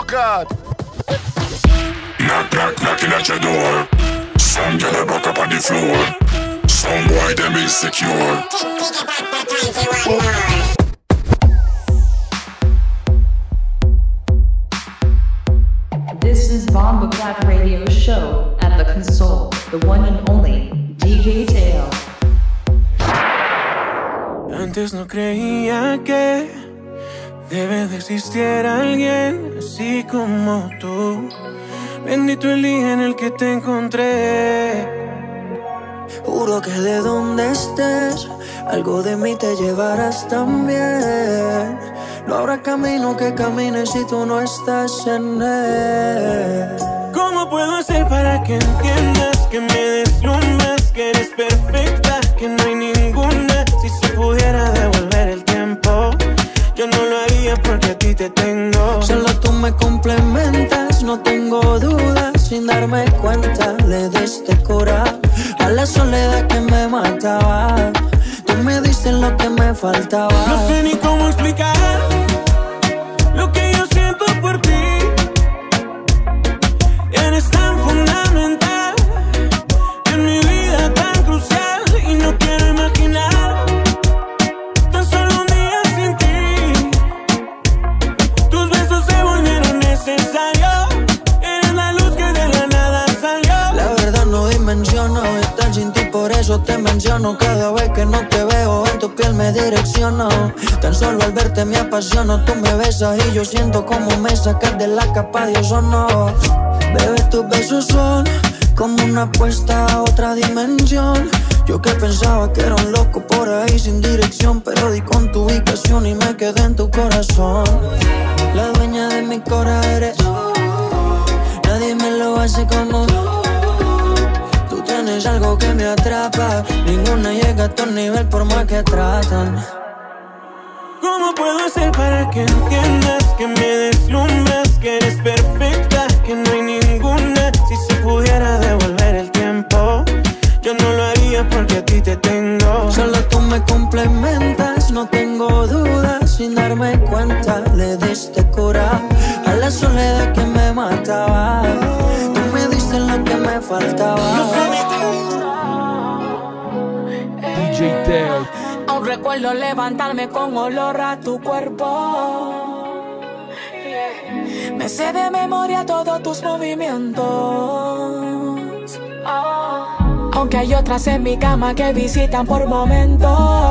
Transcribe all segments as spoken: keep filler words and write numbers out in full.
God. Knock, knock, knocking at your door. Some girl a back up on the floor. Some boy them insecure. This is Bomba Clap Radio Show at the console, the one and only D J Teo. Antes no creía que debe de existir alguien así como tú. Bendito el día en el que te encontré. Juro que de donde estés, algo de mí te llevarás también. No habrá camino que camine si tú no estás en él. ¿Cómo puedo hacer para que entiendas que me deslumbras, que eres perfecta, que no hay ninguna? Si se pudiera devolver el tiempo, yo no lo haría porque a ti te tengo. Solo tú me complementas, no tengo dudas. Sin darme cuenta le diste cura a la soledad que me mataba. Tú me diste lo que me faltaba. No sé ni cómo explicar lo que yo siento por ti. Eres tan fundamental en mi vida, tan crucial, y no quiero imaginar tan solo un día sin ti. Tus besos se volvieron necesarios. Eres la luz que de la nada salió. La verdad no dimensiono estar sin ti, por eso te menciono. Cada vez que no te veo en tu piel me direcciono. Tan solo al verte me apasiono. Tú me besas y yo siento como me sacas de la capa de ozono. Bebé, tus besos son como una apuesta a otra dimensión. Yo que pensaba que era un loco por ahí sin dirección, pero di con tu ubicación y me quedé en tu corazón. La dueña de mi cora eres tú. Nadie me lo hace como tú. Tú tienes algo que me atrapa. Ninguna llega a tu nivel por más que tratan. ¿Cómo puedo hacer para que entiendas que me deslumbras, que eres perfecta, que no hay ninguna? Si se pudiera devolver el tiempo, yo no lo haría porque a ti te tengo. Solo tú me complementas, no tengo dudas. Sin darme cuenta le diste cura a la soledad que me mataba. Tú me diste lo que me faltaba. D J Teo. Aún recuerdo levantarme con olor a tu cuerpo. Me sé de memoria todos tus movimientos. Aunque hay otras en mi cama que visitan por momentos,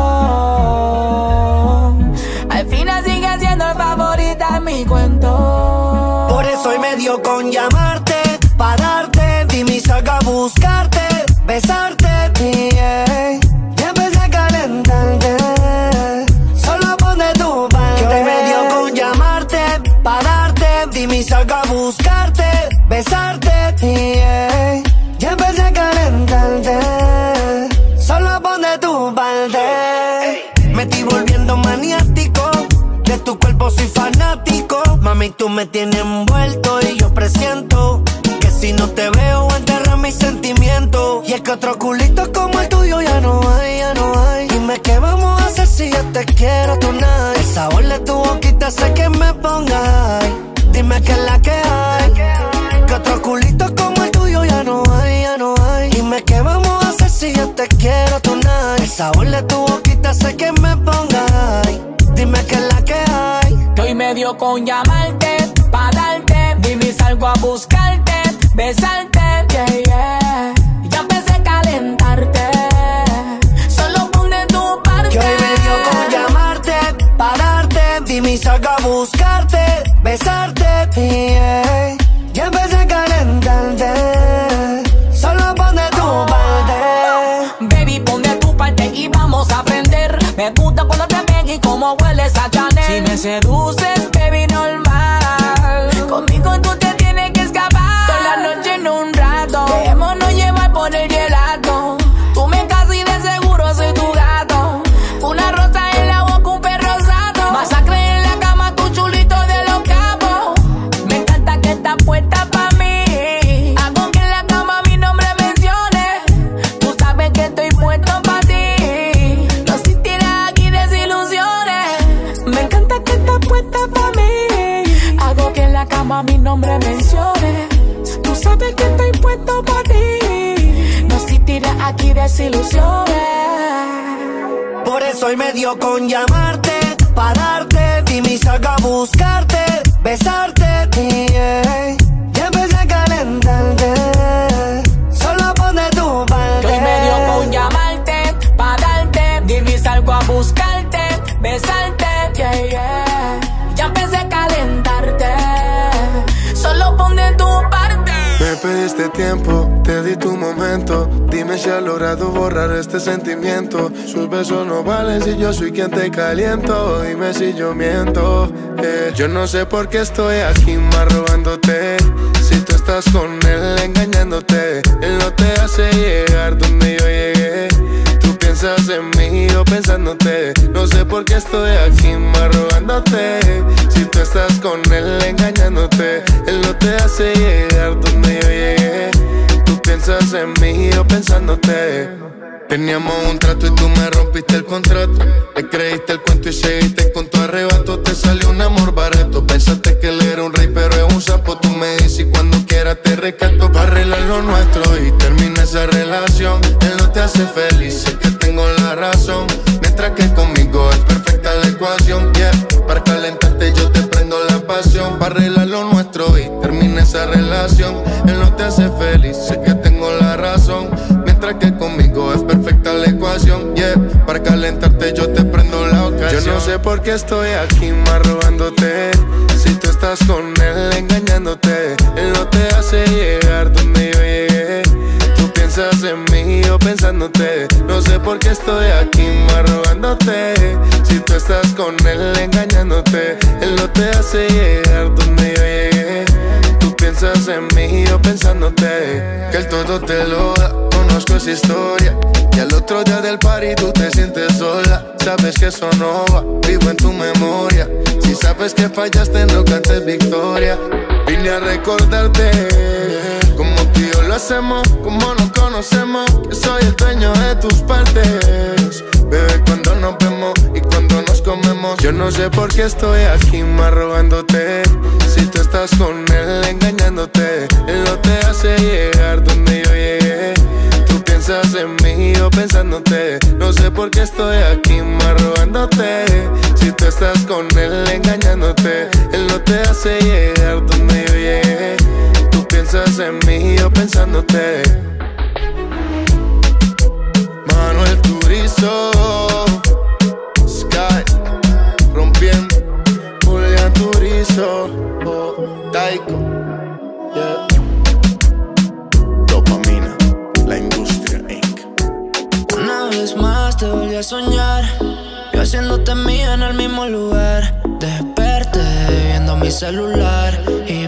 al final sigue siendo el favorita en mi cuento. Por eso hoy me dio con llamarte, pararte, dime y salga a buscarte, besarte, yeah. Ya empecé a calentarte, solo ponte tu parte. Que hoy me dio con llamarte, pararte, dime y salga a buscarte, besarte, yeah. Ya empecé a calentarte, solo ponte tu parte. Me estoy volviendo maniático, de tu cuerpo soy fanático. Mami, tú me tienes envuelto y yo presiento que si no te veo enterras mis sentimientos. Y es que otro culito como el tuyo ya no hay, ya no hay. Dime qué vamos a hacer si yo te quiero tonight. El sabor de tu boquita hace que me ponga high. Dime qué es la que hay. Que otro culito como el tuyo ya no hay, ya no hay. Dime qué vamos a hacer si yo te quiero tonight. El sabor de tu boquita hace que me ponga high. Dime qué es la que hay. Que hoy me dio con llamarte, pa' darte, dime y salgo a buscarte, besarte, yeah, yeah. Ya empecé a calentarte, solo ponte tu parte. Que hoy me dio con llamarte, pa' darte, dime y salgo a buscarte, besarte, yeah. Ya empecé a calentarte, solo ponte tu parte. Baby, ponte tu parte y vamos a aprender. Me gusta cuando te pegue y cómo hueles a Chanel. Si me seduces, baby, normal. Conmigo tú te tienes que escapar. Toda la noche en un rato, dejémonos llevar por el gelato. Tú me casas y de seguro soy tu gato. Una rosa en la boca, un perro sato. Masacre en la cama, tu chulito de los capos. Me encanta sabes que estoy puesto para ti. No existirá aquí desilusiones. Por eso hoy me dio con llamarte, pararte, dime y salga a buscarte, besarte, yeah. Ya empecé a calentarte, solo pon de tu parte. Hoy me dio con llamarte, pararte, dime y salgo a buscarte, besarte, yeah, yeah. Ya empecé a calentarte, solo pon de tu parte. Me pediste tiempo, te di tu momento. Dime si has logrado borrar este sentimiento. Sus besos no valen si yo soy quien te caliento. Dime si yo miento, eh. Yo no sé por qué estoy aquí más robándote. Si tú estás con él engañándote, él no te hace llegar donde yo llegué. Tú piensas en mí o pensándote. No sé por qué estoy aquí más robándote. Si tú estás con él engañándote, él no te hace llegar donde yo llegué. Tú piensas en mí o pensándote. Teníamos un trato y tú me rompiste el contrato. Le creíste el cuento y seguiste con tu arrebato. Te salió un amor barato. Pensaste que él era un rey pero es un sapo. Tú me dices y cuando quieras te rescato. Para arreglar lo nuestro y termina esa relación. Él no te hace feliz, sé que tengo la razón. Mientras que conmigo es perfecta la ecuación, yeah. Para calentarte yo te prendo la pasión. Para arreglar lo nuestro y termina esa relación. Él no te hace feliz, sé que tengo la razón. Mientras que conmigo es perfecta la ecuación, yeah. Para calentarte yo te prendo la ocasión. Yo no sé por qué estoy aquí más robándote. Si tú estás con él engañándote, él no te hace llegar donde yo llegué. Tú piensas en mí o pensándote. No sé por qué estoy aquí más robándote. Si tú estás con él engañándote, él no te hace llegar donde yo llegué. Tú piensas en mí o pensándote. Que él todo te lo da, conozco esa historia. Y al otro día del party tú te sientes sola. Sabes que eso no va, vivo en tu memoria. Si sabes que fallaste no cantes victoria. Vine a recordarte como tú y yo lo hacemos, como nos conocemos. Que soy el dueño de tus partes, bebé, cuando nos vemos y cuando nos comemos. Yo no sé por qué estoy aquí más robándote. Si tú estás con él engañándote, él no te hace llegar donde yo llegué. Tú piensas en mí o pensándote. No sé por qué estoy aquí más robándote. Si tú estás con él engañándote, él no te hace llegar donde yo llegué. Tú piensas en mí o pensándote. Manuel Turizo, Sky, rompiendo, Julián Turizo, oh, Taiko, yeah. Dopamina, la industria incorporated. Una vez más te volví a soñar, yo haciéndote mía en el mismo lugar. Desperté viendo mi celular y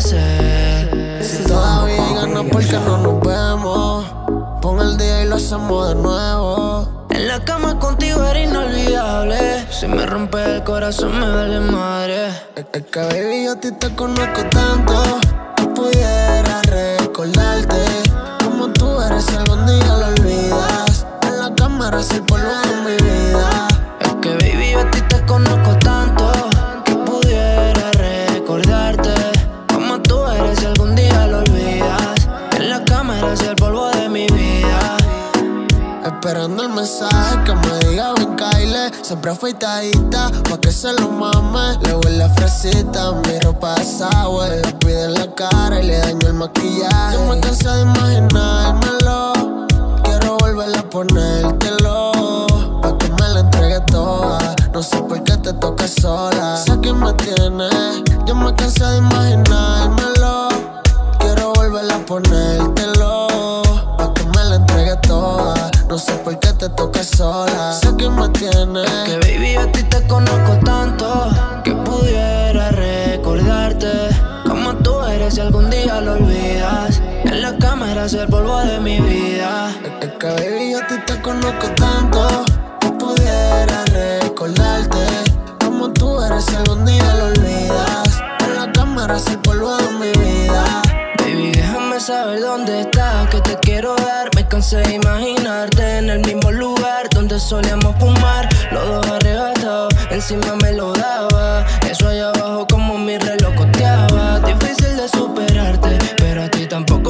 pensé, si todavía hay ganas, ¿por qué no nos vemos? Pon el día y lo hacemos de nuevo. En la cama contigo era inolvidable. Si me rompe el corazón me vale madre. Es, es que baby yo a ti te conozco tanto que pudiera recordarte como tú eres si algún día lo olvidas. En la cámara es el polvo de mi vida. Es que baby yo a ti te conozco tanto que pudiera recordarte como tú eres si algún día lo olvidas. En la cámara es el polvo de mi vida. Esperando el mensaje que me diga ven Kyle. Siempre afeitadita pa' que se lo mame. Le huele a fresita, mi ropa es agua. Le pide en la cara y le daño el maquillaje. Yo me cansé de imaginármelo. Quiero volver a ponértelo pa' que me la entregue toda. No sé por qué te toca sola. Sé que me tienes. Yo me cansé de imaginármelo. Quiero volver a ponértelo pa' que me la entregue toda. No sé por qué te toca sola. Sé que me tienes. Es que baby yo a ti te conozco tanto que pudiera recordarte como tú eres si algún día lo olvidas. En la cámara es el polvo de mi vida. Es, es que baby yo a ti te conozco tanto que pudiera recordarte como tú eres si algún día lo olvidas. En la cámara es el polvo de mi vida. Baby déjame saber dónde estás, que te quiero dar. Me cansé de imaginarte en el mismo lugar donde solíamos fumar, los dos arrebatados, encima me lo daba. Eso allá abajo como mi reloj coteaba. Difícil de superarte, pero a ti tampoco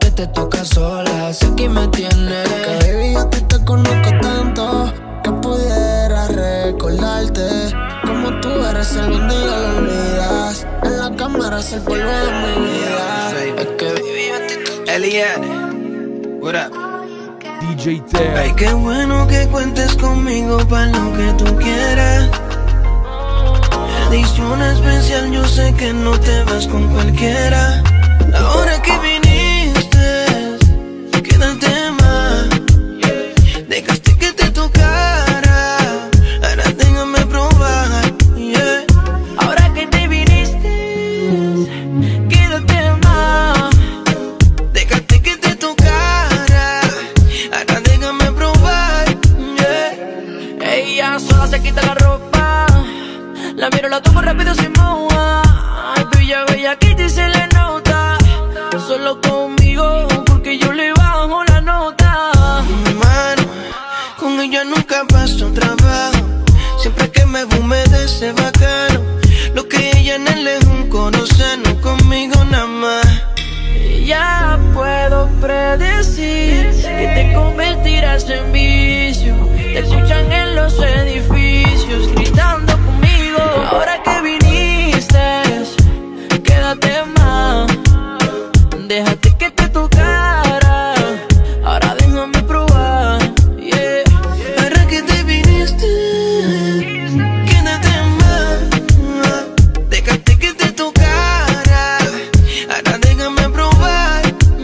que te toca sola, sé que me tienes. Que baby, yo a ti te conozco tanto que pudiera recordarte como tú eres el un día lo olvidas. En la cámara es el polvo de mi vida. Es que baby, yo a ti te... Eliane, what up? D J Teo. Ay, qué bueno que cuentes conmigo para lo que tú quieras. Edición especial, yo sé que no te vas con cualquiera. Ahora que viniste, quédate más. Dejaste que te tocara, ahora déjame probar, yeah. Ahora que te viniste, quédate más. Dejaste que te tocara, ahora déjame probar, yeah. Ella sola se quita la ropa, la miro, la toco rápido sin moja. Ay, bella, bella, que te se le nota. Solo conmigo, porque yo le bajo la nota. Mano, con ella nunca paso trabajo. Siempre que me humedece bacano. Lo que ella en él es un conoceno, conmigo nada más. Ya puedo predecir que te convertirás en vicio. Te escuchan en los edificios gritando conmigo. Ahora que viniste, quédate más. Déjate que te tocara, ahora déjame probar, yeah. Ahora que te viniste, quédate más. Déjate que te tocara, ahora déjame probar,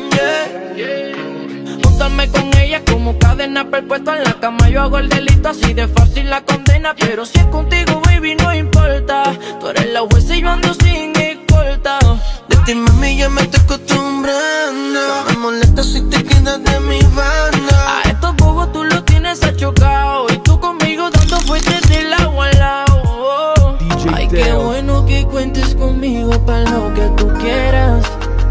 yeah. Júntame con ella como cadena perpetua en la cama. Yo hago el delito, así de fácil la condena. Pero si es contigo, baby, no importa. Tú eres la jueza y yo ando sin escolta. De ti, mami, ya me estoy acostumbrando. Me molesta si te quedas de mi banda. A estos bobos tú los tienes achocado. Y tú conmigo dando fuertes del agua al lado, oh. Ay, qué bueno que cuentes conmigo para lo que tú quieras.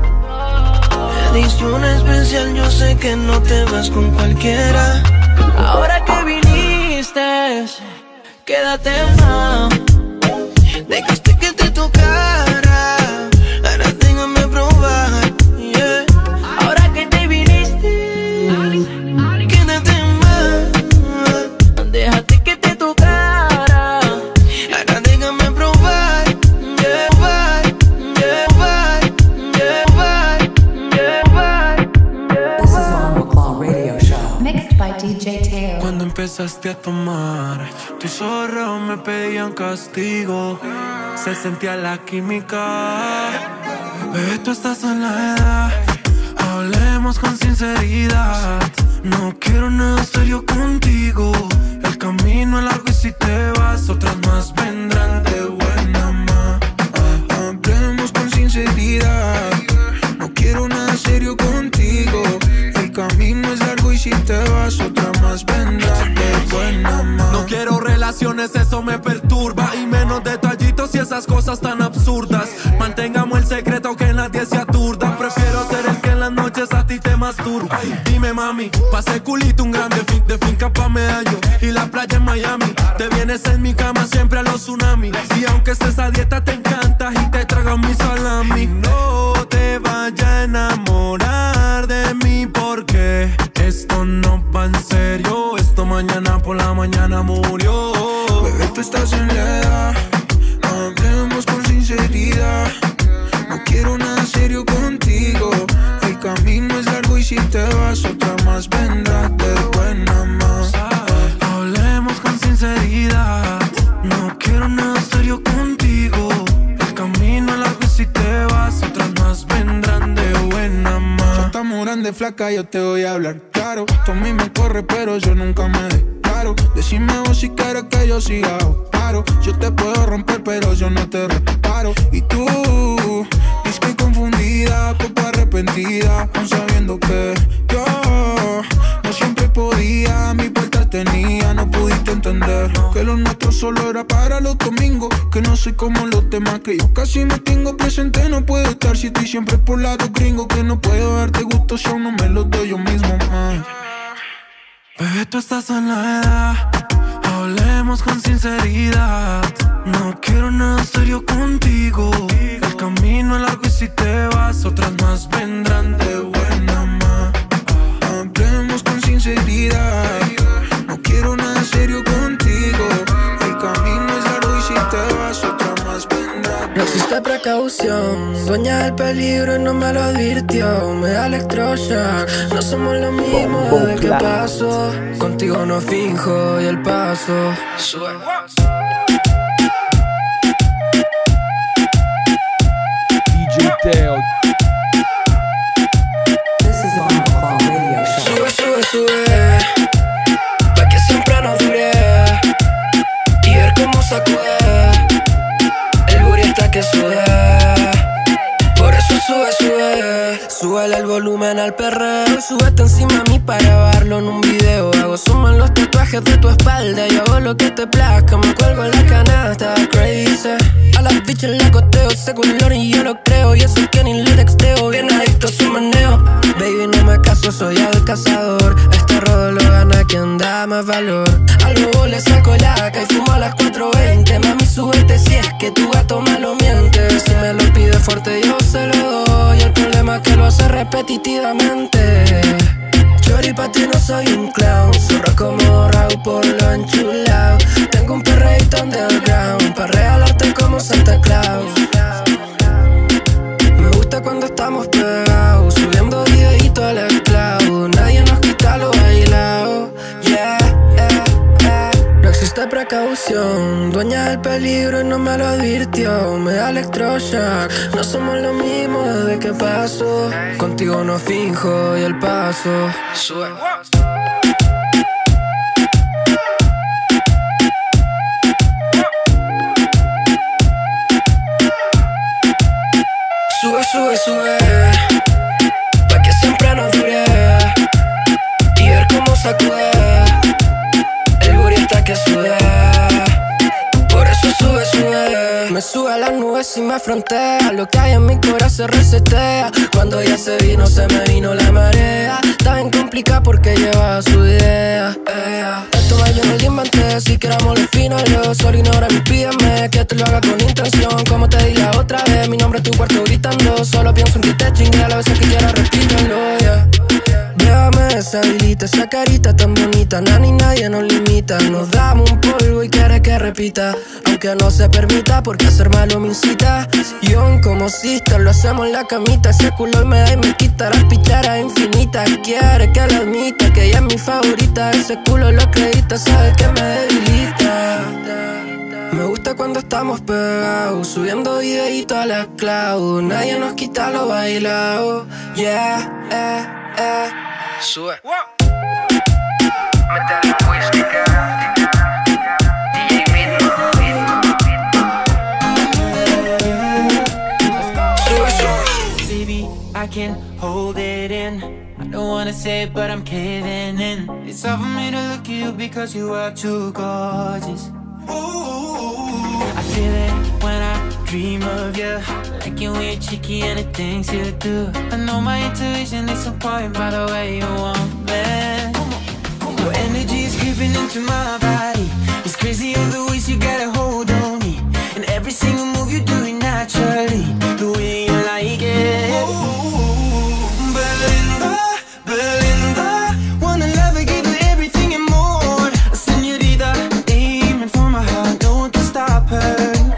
Edición especial, yo sé que no te vas con cualquiera. Ahora que viniste, quédate más. Dejaste que te tocara, ahora déjame probar, yeah. Ahora que te viniste, quédate más. Déjate que te tocara, ahora déjame probar, yeah. Probar, yeah. Probar, yeah. Probar, yeah. Probar, yeah. This is Armor Claw Radio Show. Mixed by D J Teo. Cuando empezaste a tomar, tus ojos me pedían castigo. Se sentía la química. Bebé, tú estás en la edad. Hablemos con sinceridad. No quiero nada serio contigo. El camino es largo y si te vas, otras más vendrán de buena más. Hablemos con sinceridad. No quiero nada serio contigo. El camino es largo y si te vas, otras más vendrán de buena más. No quiero relaciones, eso me perturba. Y menos detallitos y esas cosas tan absurdas. Mantengamos el secreto, que nadie se aturda. Prefiero ser el que en las noches a ti te masturba. Dime, mami, pase culito un grande fin, de finca pa' medallo y la playa en Miami. Te vienes en mi cama siempre a los tsunamis. Y aunque estés a dieta te encantas y te tragas mi salami. No te vayas a enamorar de mí porque esto no va en serio. Esto mañana por la mañana murió. Bebé, tú estás en la edad. Hablemos con sinceridad. No quiero nada serio contigo. El camino es largo y si te vas, otra más vendrá de buena más. Hablemos con sinceridad. No quiero nada serio contigo. El camino es largo y si te vas, otras más vendrán de buena más. Ya estamos grande, flaca, yo te voy a hablar claro. Tú a mí me corre, pero yo nunca me declaro. Decime vos si quieres que yo siga o paro. Yo te puedo romper, pero yo no te reparo. Y tú, dices que confundida, poco arrepentida, aún sabiendo que yo no siempre podía, mi puerta tenía. No pudiste entender que lo nuestro solo era para los domingos. Que no soy como los demás, que yo casi me tengo presente. No puedo estar si estoy siempre por lado gringo. Que no puedo darte gusto si aún no me lo doy yo mismo, man. Bebé, tú estás en la edad. Hablemos con sinceridad. No quiero nada serio contigo. El camino es largo y si te vas, otras más vendrán de buena precaución, dueña del peligro y no me lo advirtió. Me da electroshock, no somos lo mismo desde que pasó. Contigo no finjo y el paso sube. D J Teo. Sube, sube, sube, pa' que siempre nos dure y ver cómo sacude el booty hasta que sude. Por eso sube, sube, súbele el volumen al perreo y súbete encima a mí para grabarlo en un video. Hago zoom en los tatuajes de tu espalda y hago lo que te plazca, me cuelgo en la canasta, crazy. A las bichas la costeo, ese color y yo lo creo, y eso que ni le texteo, bien adicto a su meneo. Baby, no me caso, soy el cazador, este rodo lo gana quien da más valor. Al lobo le saco laca y fumo a las cuatro veinte. Mami, súbete si es que tu gato me lo miente. Si me lo pide fuerte yo se lo doy, el problema es que lo hace repetitivamente. Chori, pa' ti no soy un clown, zorra como Raúl por lo enchulado. Tengo un perreíto underground pa' regalarte como Santa Claus. Me gusta cuando estamos pegados, subiendo videíto al esclavo. Nadie nos quita lo bailado, yeah, yeah, yeah. No existe precaución, dueña del peligro y no me lo advirtió. Me da electroshock, no somos lo mismo desde que pasó. Contigo no finjo y el paso sube. Sube, sube, sube, pa' que siempre nos dure y ver cómo sacude el booty hasta que sude. Por eso sube, sube, me sube a las nubes y me frontea. Lo que hay en mi corazón se resetea. Cuando ya se vino, se me vino la marea. Está bien complicada porque lleva su idea, yeah. Esto más yo no lo inventé, si queramos lo fino, lo solo ignora mi pídeme que te lo haga con intención. Como te di la otra vez, mi nombre en tu cuarto gritando. Solo pienso en que te chingue a la vez que quiera repítelo, yeah. Déjame esa habilita, esa carita tan bonita. Nani, nadie nos limita. Nos damos un polvo y quiere que repita, aunque no se permita porque hacer malo me incita. Yo como sister lo hacemos en la camita. Ese culo y me da y me quita las picharas infinitas. Quiere que lo admita, que ella es mi favorita. Ese culo lo acredita, sabe que me debilita. Me gusta cuando estamos pegados, subiendo videíto a la cloud. Nadie nos quita lo bailado, yeah, eh, eh. Sube. Métele whisky, D J Mitno. Sube, sube. Baby, I can hold it in. I don't wanna say it, but I'm caving in. It's hard for me to look at you because you are too gorgeous. I feel it when I dream of you, like you weird, cheeky, and the things you do. I know my intuition is on point by the way you want me. Your energy is creeping into my body. It's crazy all the ways you got a hold on me, and every single move you do it naturally, the way you like it. Belinda, Belinda, wanna love you, give you everything and more. A señorita, aiming for my heart, no one can stop her.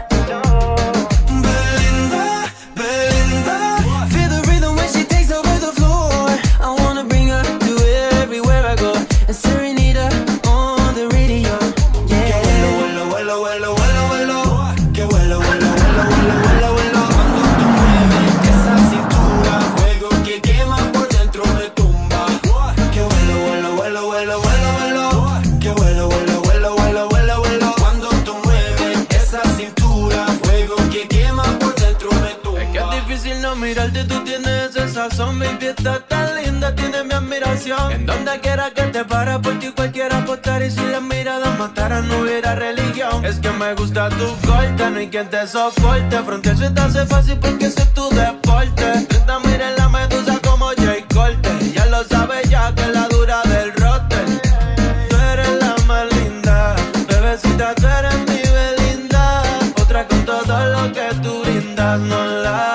Mirarte tú tienes esa sazón, baby, estás tan linda, tienes mi admiración. En donde quiera que te pares, por ti cualquiera apostar. Y si las miradas mataran, no hubiera religión. Es que me gusta tu corte, no hay quien te soporte. Frontear se te hace fácil porque ese es tu deporte. Treinta mira en la medusa como Jay Corte. Ya lo sabes ya que es la dura del roster. Tú eres la más linda, bebecita, tú eres mi Belinda. Otra con todo lo que tú brindas, no la.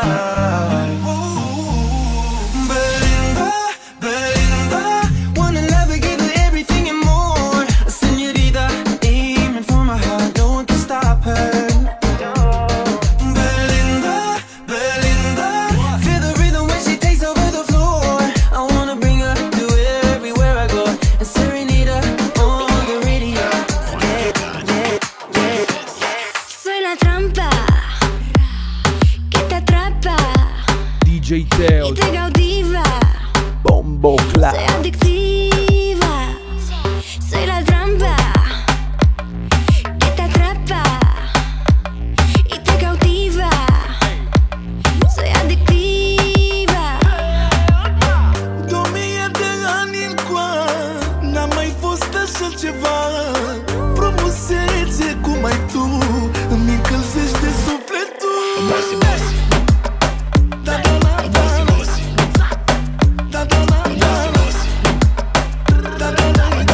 Paola. Soy adictiva, soy la trampa que te atrapa y te cautiva. Soy adictiva. Domingue te ganin qua, n-am mai fost așa ceva. Frumusețe cum ai tu îmi încălzește sufletul. Bossy, bossy. Da, da, da, da. Bossy, da, da, da, da. Da, da, da, da.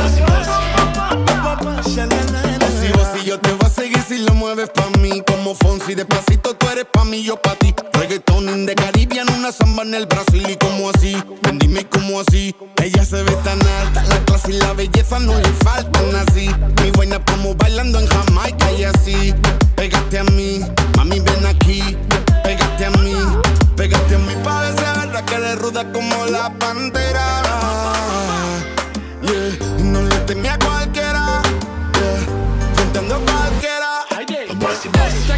Bossy, bossy, yo te voy a seguir si lo mueves pa' mí. Como Fonsi, despacito tú eres pa' mí, yo pa' ti. Reggaeton de Caribbean, una samba en el Brasil. Y como así, ven dime como así. Ella se ve tan alta, la clase y la belleza no le faltan así. Mi buena como bailando en Jamaica y así. Pégate a mí, mami ven aquí. Pégate a mí, pégate a mí pa' desear que eres ruda como la pantera. Yeah, no le temí a cualquiera. Yeah, fronteando a cualquiera. Bossy, bossy.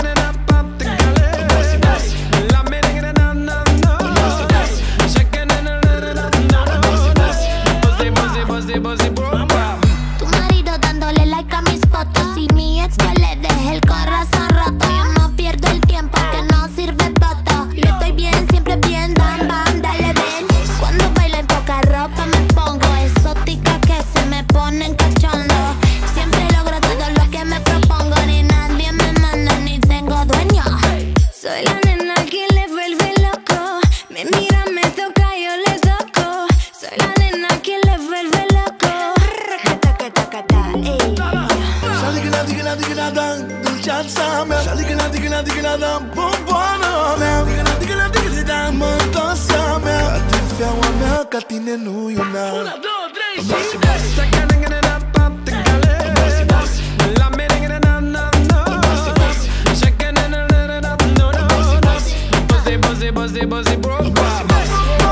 Tu marido dándole like a mis fotos y mi ex que le dejé el corazón roto. Yo no pierdo el tiempo que no sirve voto. Yo estoy bien, siempre bien, bam, bam, dale ven. Cuando bailo en poca ropa me pongo exótica que se me ponen cachondo. Siempre logro todo lo que me propongo. Ni nadie me manda ni tengo dueño. Soy la nena que le vuelve loco. Me mira, me toca, yo le toco. Soy la nena que le vuelve loco. Shaligina, digina, digina, dan, dulceața mea. Shaligina, digina, digina, dan, bomboana mea. Digina, digina, digina, dan, mătoasa mea. Catifeaua mea, ca tine nu e una. Una, două, trei și... Bossy, bossy. Bossy, bossy. La merengue, na, na, na. Bossy, bossy. Shaking, na, na, na, na, na, na. Bossy, bossy. Bossy, bossy, bossy, bossy, bro. Bossy, bossy.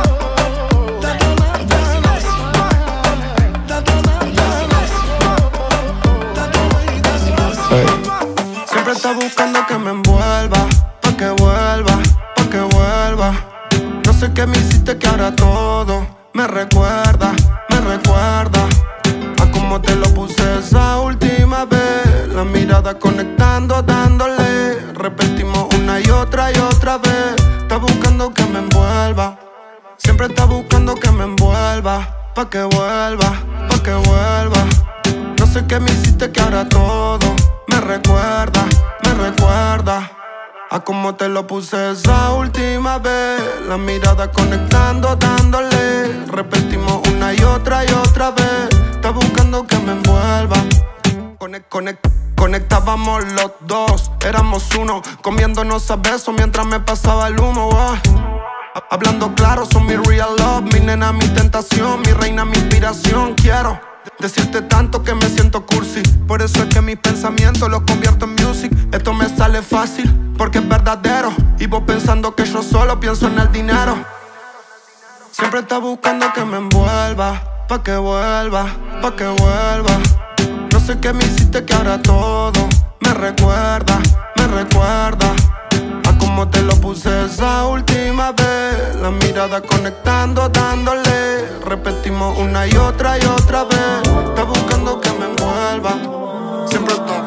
Siempre está buscando que me envuelva, pa' que vuelva, pa' que vuelva. No sé qué me hiciste que ahora todo me recuerda, me recuerda a cómo te lo puse esa última vez. La mirada conectando, dándole. Repetimos una y otra y otra vez. Está buscando que me envuelva. Siempre está buscando que me envuelva, pa' que vuelva, pa' que vuelva. No sé qué me hiciste que ahora todo me recuerda, me recuerda a cómo te lo puse esa última vez. La mirada conectando, dándole. Repetimos una y otra y otra vez. Está buscando que me envuelva. Conect, conect, conectábamos los dos. Éramos uno, comiéndonos a besos mientras me pasaba el humo. Oh. Hablando claro, son mi real love. Mi nena, mi tentación, mi reina, mi inspiración. Quiero decirte tanto que me siento cursi. Por eso es que mis pensamientos los convierto en music. Esto me sale fácil porque es verdadero. Y vos pensando que yo solo pienso en el dinero. Siempre está buscando que me envuelva, pa' que vuelva, pa' que vuelva. No sé qué me hiciste que ahora todo me recuerda, me recuerda a cómo te lo puse esa última vez. La mirada conectando, dándole. Repetimos una y otra y otra vez. Está buscando que me envuelva. Siempre está.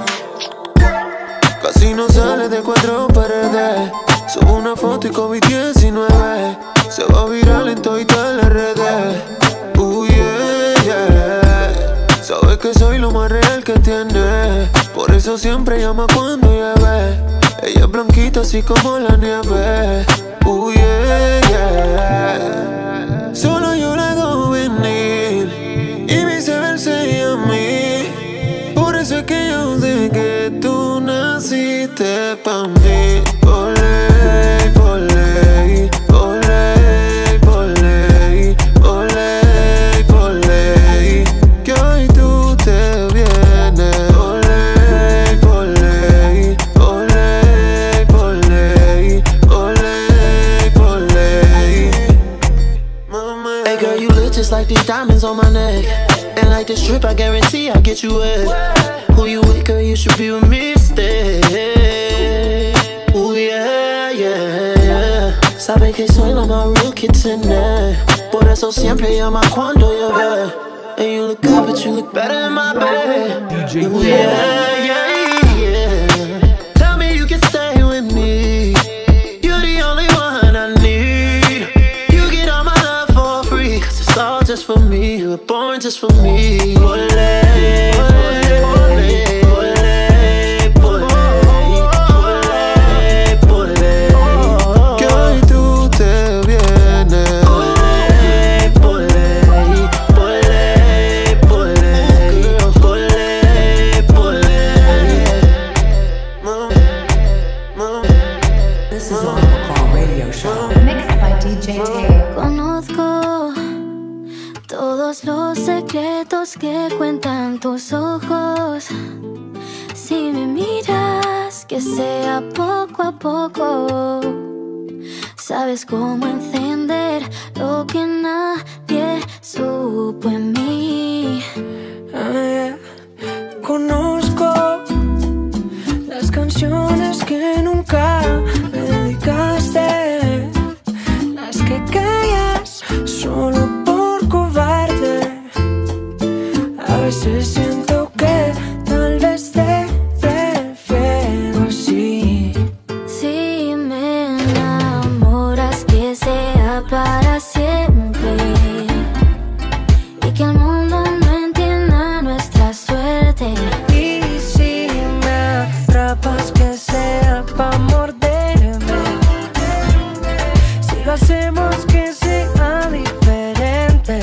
Casi no sale de cuatro paredes. Subo una foto y COVID diecinueve se va viral en todas las redes. Uh, yeah, yeah. Sabes que soy lo más real que tiene. Por eso siempre llama cuando llueve. Ella es blanquita así como la nieve. Uh, yeah, yeah. Solo yo la hago venir y viceversa ella a mí. Por eso es que yo sé que tú naciste pa' mí. Por ley, por ley, por ley, por ley, por ley, por ley, que hoy tú te vienes. Por ley, por ley, por ley, por ley, por ley, por ley. Hey girl, you look just like these diamonds on my neck. And like this trip, I guarantee I'll get you wet. Who you with, girl, you should be with me instead. Ooh, yeah, yeah, yeah. Sabes que soy la más real que tenés. Por eso siempre llama cuando llueve. And you look good, but you look better in my bed. D J Teo. Yeah, yeah, yeah. Tell me you can stay with me. You're the only one I need. You get all my love for free, cause it's all just for me. You were born just for me. Ole, ole, ole. Conozco todos los secretos que cuentan tus ojos. Si me miras, que sea poco a poco. Sabes cómo encender lo que nadie supo en mí. Ah, yeah. Conozco las canciones que nunca me dedicaste, las que callas solo por cobarde. A veces siento que tal vez te prefiero así. Si me enamoras, que sea para siempre, y que el mundo no entienda nuestra suerte. Y si me atrapas, que sea pa' morderme. Si lo hacemos, que sea diferente.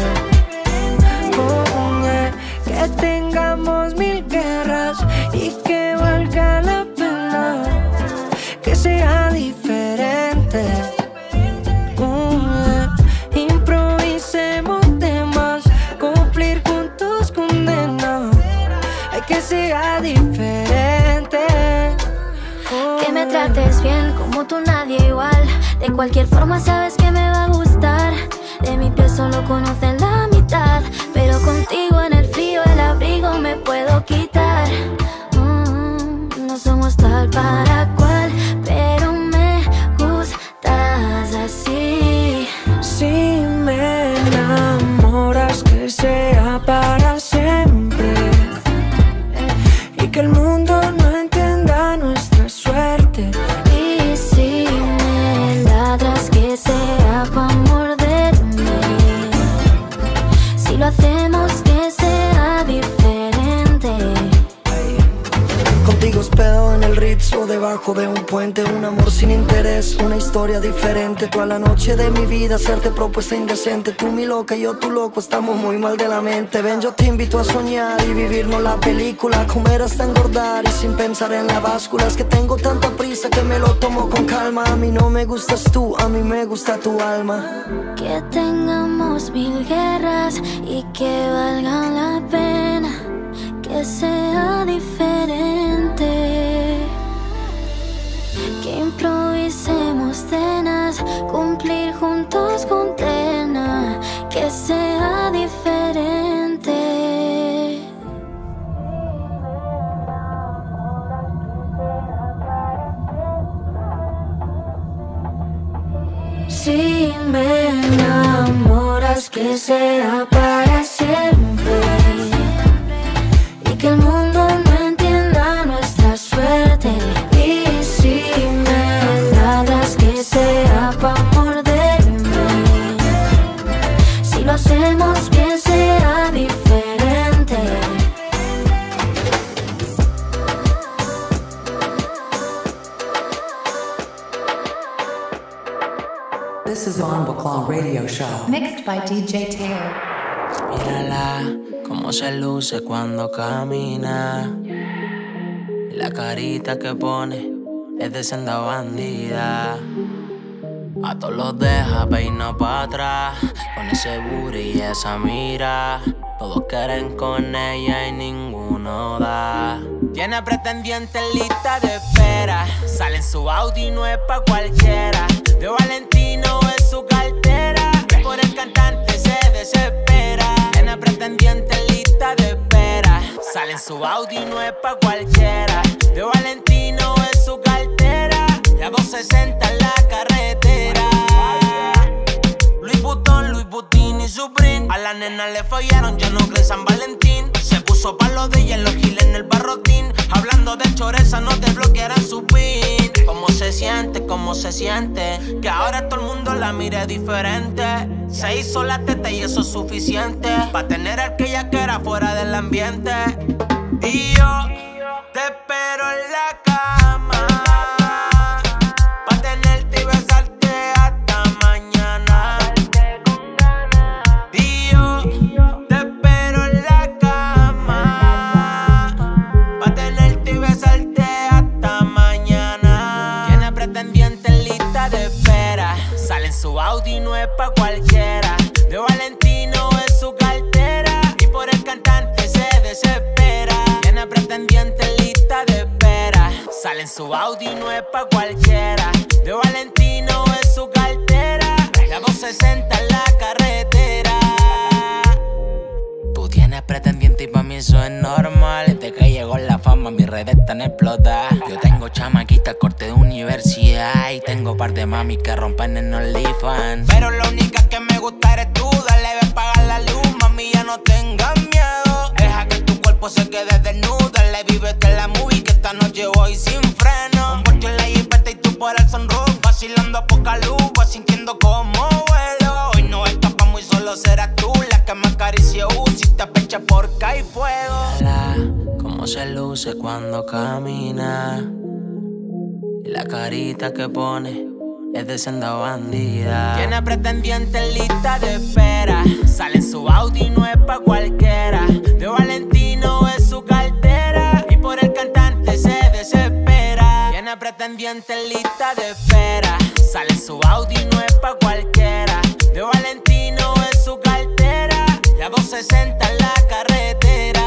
Oh, yeah. Que tengamos mil guerras y que valga la pena. Que sea diferente. Oh, yeah. Improvisemos temas, cumplir juntos condena. Hay que sea diferente. Oh, Que me trates bien, como tú nadie igual. De cualquier forma sabes que me va a gustar. De mi piel solo conocen la mitad, pero contigo en el frío el abrigo me puedo quitar. Mm, no somos tal para cual, pero me gustas así. Si me enamoras, que sea para siempre, y que el mundo no entienda nuestra suerte. Y si me ladras, que sea pa' morderme. Si lo hacemos, que sea diferente. Contigo hospedo en el Ritz o debajo de un puente. Un amor sin interés, una historia diferente. Toda la noche de mi vida hacerte propuesta indecente. Tú mi loca y yo tu loco, estamos muy mal de la mente. Ven, yo te invito a soñar y vivirnos la película. Comer hasta engordar y sin pensar en la báscula. Es que tengo tanta prisa que me lo tomo con calma. A mí no me gustas tú, a mí me gusta tu alma. Que tengamos mil guerras y que valgan la pena. Que sea diferente. Que improvisemos cenas, cumplir juntos condena. Que sea diferente. Si me enamoras, que sea para siempre, y que el mundo no entienda nuestra suerte. Y si me ladras, que sea pa' morderme. Si lo hacemos, que sea diferente. This is On Baclaw Radio Show. Mixed by D J Taylor. Mírala, cómo se luce cuando camina. La carita que pone es de senda bandida. A todos los deja peina pa' atrás. Con ese booty y esa mira. Todos quieren con ella y ninguno da. Tiene pretendientes lista de espera. Sale en su Audi, no es pa' cualquiera. De Valentino es su cartera. Por el cantante se desespera. Tiene pretendientes lista de espera. Sale en su Audi, no es pa' cualquiera. De Valentino es su cartera. Y a doscientos sesenta en la carretera. Louis Vuitton, Louis Vuitton. mini Supreme. A la nena le fallaron, ya no cree San Valentín. Se puso palo de hielo, giles en el barrotín. Hablando de choreza, no te bloquearán su pin. ¿Cómo se siente? ¿Cómo se siente? Que ahora todo el mundo la mire diferente. Se hizo la teta y eso es suficiente pa' tener al que ella quiera fuera del ambiente. Y yo te espero en la cama pa' tenerte y besarte hasta mañana. Y yo te espero en la cama pa' tenerte y besarte hasta mañana. Tiene pretendiente en lista de espera. Sale en su Audi, no es pa' cualquiera. De Valentino es su cartera y por el cantante se desespera. Tiene pretendiente en lista de espera. Sale en su Audi, no es pa' cualquiera. De Valentino es su cartera. La doscientos sesenta en la carretera. Tú tienes pretendiente y pa' mí eso es normal. Desde que llegó la fama mis redes están explotadas. Yo tengo chamaquita corte de universidad y tengo par de mami que rompen en OnlyFans. Pero la única que me gusta eres tú. Dale, ven, pagar la luz, mami, ya no tengas miedo. Deja que tu cuerpo se quede desnudo. Dale, vívete la movie que esta noche voy sin freno. Un porche en la jipeta y tú por el sunroof. Vacilando a poca luz, vas sintiendo como vuelo. Hoy no escapamos y solo serás tú la que me acarició. Si te pecha porque hay fuego. Mira cómo se luce cuando camina. Y la carita que pone es de senda bandida. Tiene pretendiente en lista de espera. Sale en su Audi, no es pa' cualquiera. De Valentino es su cartera y por el cantante se desespera. Tiene pretendiente en lista de espera. Sale en su Audi, no es pa' cualquiera. De Valentino es su cartera. La doscientos sesenta en la carretera.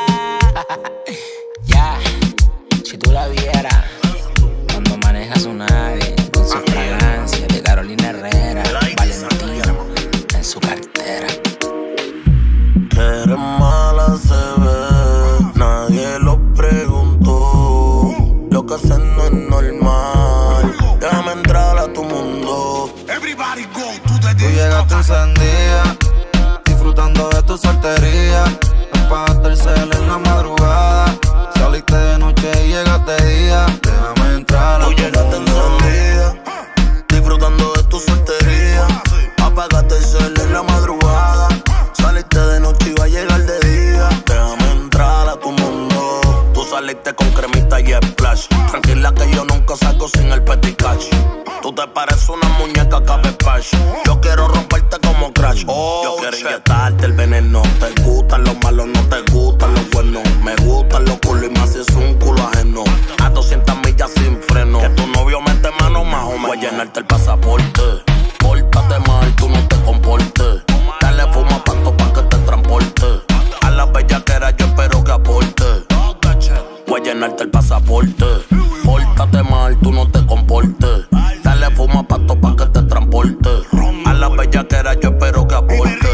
Ya, si tú la vieras cuando manejas un Audi con su fragancia de Carolina Herrera, Valentino en su cartera. Que eres mala se ve, nadie lo preguntó. Lo que haces no es normal. Déjame entrar a tu mundo. Everybody go to the Tú llegaste encendida, disfrutando de tu soltería. Apagaste el cel en la madrugada. Saliste de noche y llegaste de día. Déjame entrar a Tú llegaste encendida, disfrutando de tu soltería. Apagaste el cel en la madrugada. Saliste de noche y va a llegar de día. Déjame entrar a tu mundo. Tú saliste con cremita y splash. Tranquila que yo nunca salgo sin el petit cash. Tú te pareces una muñeca cabezpash. Yo quiero romperte como Crash. Oh, yo quiero inyectarte el veneno. Te gustan los malos, no te gustan los buenos. Me gustan los culos y más si es un culo ajeno. A doscientas millas sin freno. Que tu novio mete mano más o menos. Voy a llenarte el pasaporte. Pórtate mal, tú no te comportes. Dale fuma pasto pa' que te transporte. A la bellaquera yo espero que aporte. Voy a llenarte el pasaporte. Pórtate mal, tú no te comportes. Dale fuma pasto pa' que te transporte. A la bellaquera yo espero que aporte.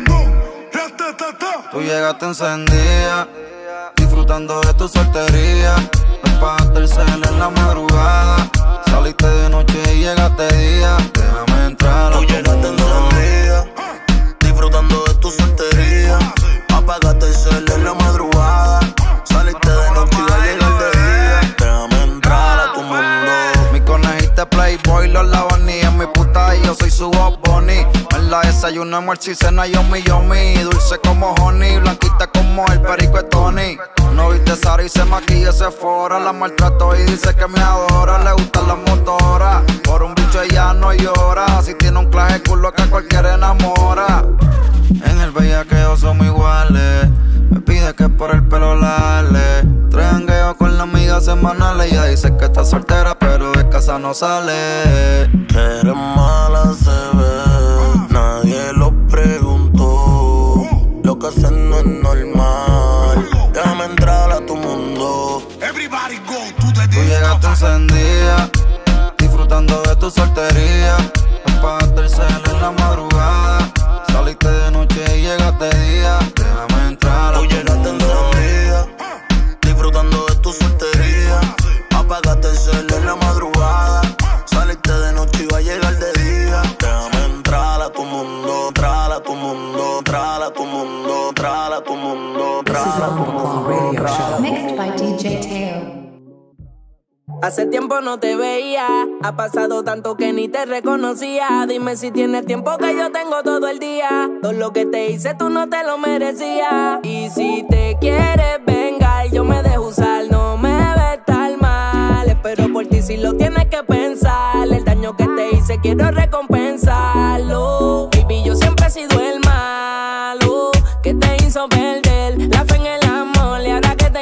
Tú llegaste encendida, disfrutando de tu soltería. Apagaste el cel en la madrugada. Saliste de noche y llegaste de día. Déjame entrar a Tú llegaste encendida, disfrutando de tu soltería. Apagaste el cel en la madrugada. Saliste de noche y va a llegar de día. Déjame entrar a tu mundo. Mi conejita Playboy, los Lavani en mi puta y yo soy su Bob Bunny. En la desayuno, almuerzo y cena yomi yomi. Dulce como honey, blanquita como el perico de Tony. No viste Sara y se maquilla, se fora. La maltrato y dice que me adora. Le gustan las motoras, por un bicho ella no llora. Si tiene un claje culo que cualquiera enamora. En el bellaqueo somos iguales. Me pide que por el pelo la ale. Tres jangueos con la amiga semanales. Ella dice que está soltera pero de casa no sale. Que eres mala se ve, nadie lo preguntó. Lo que haces no es normal. Déjame entrar a tu mundo. Everybody go to the Tú llegaste encendida, disfrutando de tu soltería. Apagaste el cel en la madrugada. Saliste de noche y llegaste de día. Déjame entrar a Tú llegaste encendida, disfrutando de tu soltería. Apagaste el cel en la madrugada. Saliste de noche y va a llegar de día. Déjame entrar a tu mundo, entrar a tu entrar a tu mundo, entrar a tu mundo, entrar a tu Mixed by D J Teo. Hace tiempo no te veía, ha pasado tanto que ni te reconocía. Dime si tienes tiempo que yo tengo todo el día. Todo lo que te hice tú no te lo merecías. Y si te quieres vengar, yo me dejo usar, no me ves tan mal. Espero por ti si lo tienes que pensar. El daño que te hice quiero recompensarlo. Baby, yo siempre he sido el malo que te hizo perder la fe en el amor. Y ahora que te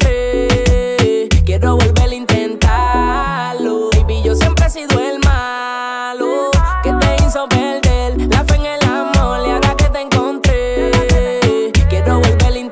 encontré, quiero volver a intentarlo. Baby, yo siempre he sido el malo que te hizo perder la fe en el amor. Y ahora que te encontré, quiero volver a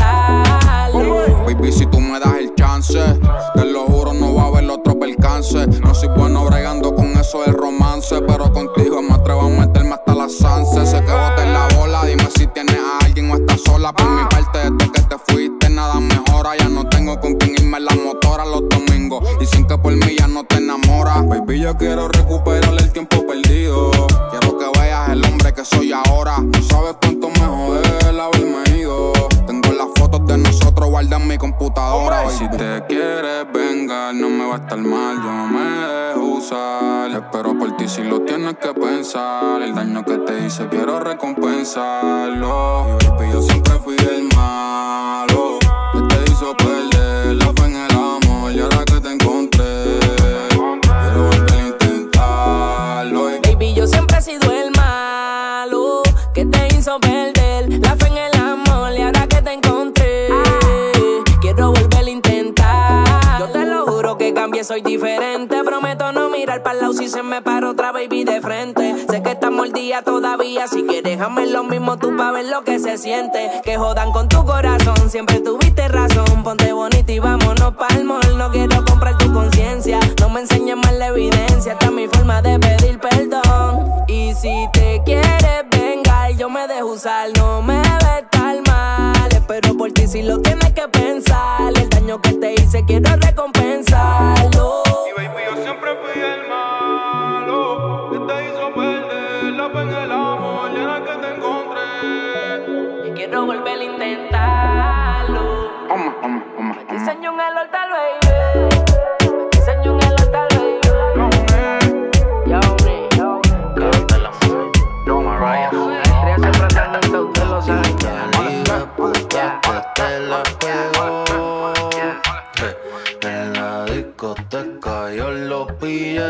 intentarlo. Baby, si tú me das el chance, te lo juro no va a haber otro percance. No soy bueno bregando con eso del romance, pero contigo me atrevo a meterme hasta la sanse. Sé que boté la bola, dime si tienes a alguien o estás sola. Por mi parte, desde que te fuiste nada mejora. Ya no tengo con quien irme en la motora los domingos, dicen que por mí ya no te enamoras. Baby, yo quiero recuperar el tiempo perdido. Quiero que veas el hombre que soy ahora. No sabes cuánto me jode el haberme ido. Tengo las fotos de nosotros guardadas en mi computadora. Baby, si te quieres vengar, no me va a estar mal, yo no me dejo usar. Espero por ti si lo tienes que pensar. El daño que te hice quiero recompensarlo. Y baby, yo siempre fui el malo que te hizo perder la fe en el amor. Y ahora que te encontré, quiero volver a intentarlo. Y baby, yo siempre he sido el malo que te hizo perder la fe en el amor. Y ahora que te encontré, quiero volver a intentar. Yo te lo juro que cambié, soy diferente. Prometo no mirar para el lado si se me para otra baby de frente. Sé que estás mordida todavía, si quieres déjame lo mismo tú pa' ver lo que se siente. Que jodan con tu corazón, siempre tuviste razón. Ponte bonita y vámonos pa'l mall. No quiero comprar tu conciencia, no me enseñes más la evidencia. Esta es mi forma de pedir perdón. Y si te quieres vengar, yo me dejo usar, no me ves tan mal. Espero por ti si lo tienes que pensar. El daño que te hice quiero recompensarlo. Y baby, yo siempre fui el malo que te hizo perder la fe en el amor. Y ahora que te encontré, y quiero volver a intentarlo. Oma, oma, oma, Te enseño un el altar, baby. Te enseño un el altar, baby. Yo, me, yo, Cántala, mami. No, Mariah. Estrella siempre andando en todo, ustedes lo saben. Puta que te la pegó. En la discoteca yo lo pillé.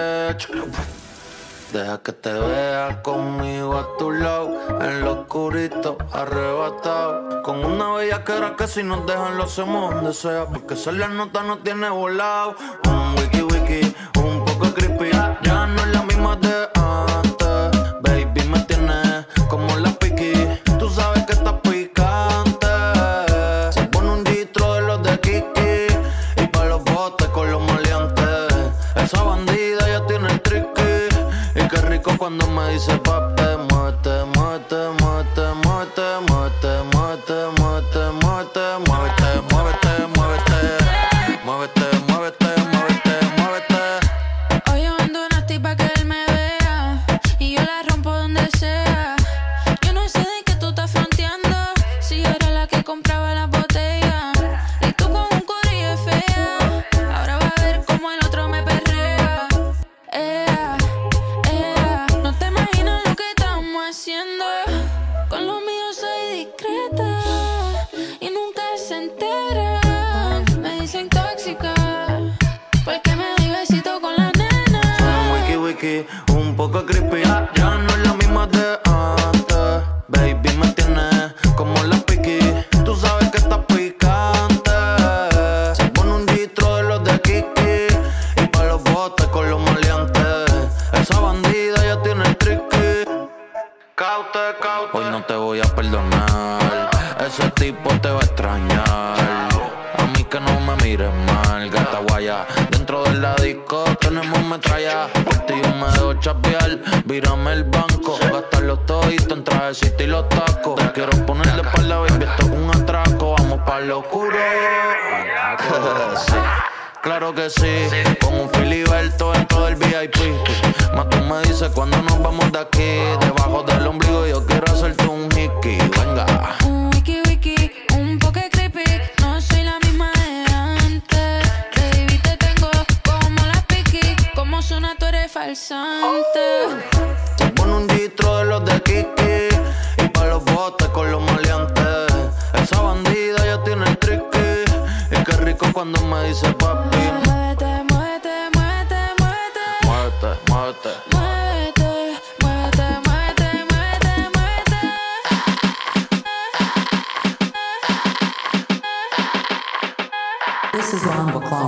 Deja que te vea conmigo a tu lado, en lo oscurito, arrebatado. Con una bellaquera que si nos dejan lo hacemos donde sea, porque esa la nota no tiene volado. Un wiki wiki, un poco creepy, ya no es la misma de antes. Baby, me tienes como la piqui, tú sabes que estás picante. Se pone un distro de los de Kiki, y pa' los botes con los maleantes. Esa bandida ya tiene el tricky. Y qué rico cuando me dice papi, muévete, muévete, muévete, muévete, muévete, muévete, muévete, muévete, muévete, muévete, muévete, muévete, muévete, muévete, muévete. Hoy abandonaste pa' que él me vea y yo la rompo donde sea. Yo no sé de qué tú estás fronteando, si yo era la que compraba la botella. Y tú con un corillo fea, ahora va a ver cómo el otro me perrea. Ea, ea, no te imaginas lo que estamos haciendo. Con lo mío soy discreta y nunca se enteran. Me dicen tóxica porque me doy besito con la nena. Un wiki wiki, un poco creepy, ya no es la misma de antes. Baby, me tienes como la piqui, tú sabes que estás picante. Se pone un distro de los de Kiki, y pa' los botes con los maleantes. Esa bandida ya tiene el tricky. Caute, caute. Hoy no te voy a perdonar, ese tipo te va a extrañar. A mí que no me mires mal, gata guaya. Dentro de la disco tenemos metralla. Por ti yo me dejo chapear, vírame el banco. Gastar los toditos en trajecito y los tacos. Te quiero poner de espalda, baby, esto es un atraco. Vamos pa' lo oscuro. Sí, claro que sí, con un filiberto dentro del V I P. Más tú me dices cuando nos vamos de aquí. Debajo del ombligo yo quiero hacerte un hickey, venga. Un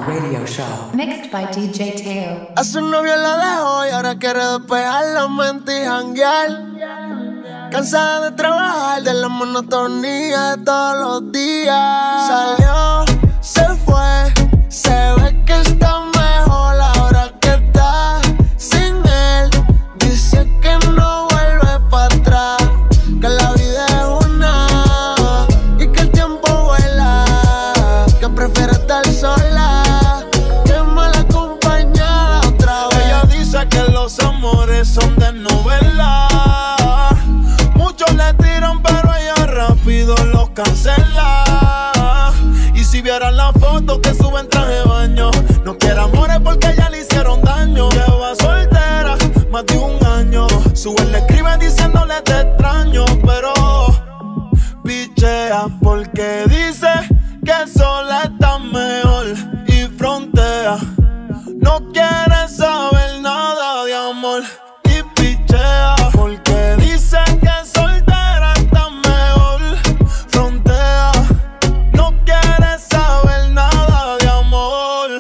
Radio Show. Mixed by D J Teo. A su novio la dejó y ahora quiere despejar la mente y janguear. Cansada de trabajar, de la monotonía de todos los días. Salió, se fue, se ve que está mejor ahora que está sin él. Dice que no vuelve para atrás, que la vida es una y que el tiempo vuela, que prefiere estar sola que mal acompañada otra vez. Ella dice que los amores son de novela, muchos le tiran pero ella rápido los cancela. Y si vieran la foto que sube en traje de baño, no quiere amores porque ya le hicieron daño. Lleva soltera más de un año, su ex le escribe diciéndole te extraño, pero pichea porque dice que sola está mejor y frontea. No quiere saber nada de amor y pichea porque dice que soltera está mejor, frontea. No quiere saber nada de amor.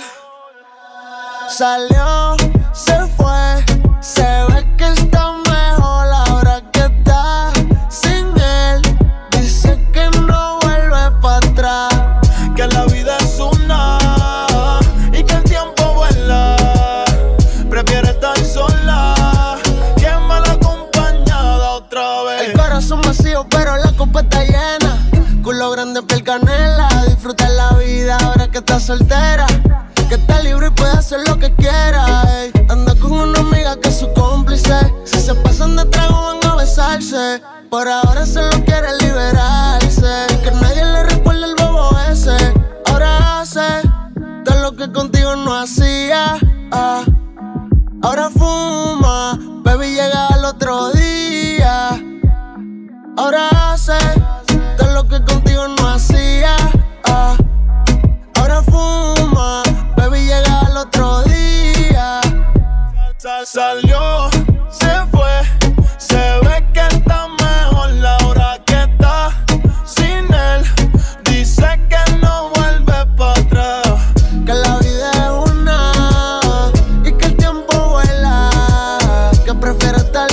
Salió, se fue, se ve que está mejor ahora que está sin él. Dice que no vuelve para atrás, que la vida es una y que el tiempo vuela. Prefiere estar sola que mal acompañada otra vez. El corazón vacío pero la copa está llena. Culo grande, piel canela. Disfruta la vida ahora que está soltera, que está libre y puede hacer lo que quiera. Ey. Anda con una amiga que es su cómplice. Si se pasan de trago van a besarse. Por ahora solo quiere liberarse, que nadie le recuerde el bobo ese. Ahora hace todo lo que contigo no hacía. Ah. Ahora fuma, baby llega al otro día. Ahora hace todo lo que contigo no hacía. Ah. Ahora fuma, baby llega al otro día. Sal- Salió, se fue, se ve que está mejor la hora que está sin él. Dice que no vuelve para atrás, que la vida es una y que el tiempo vuela, que prefiere estar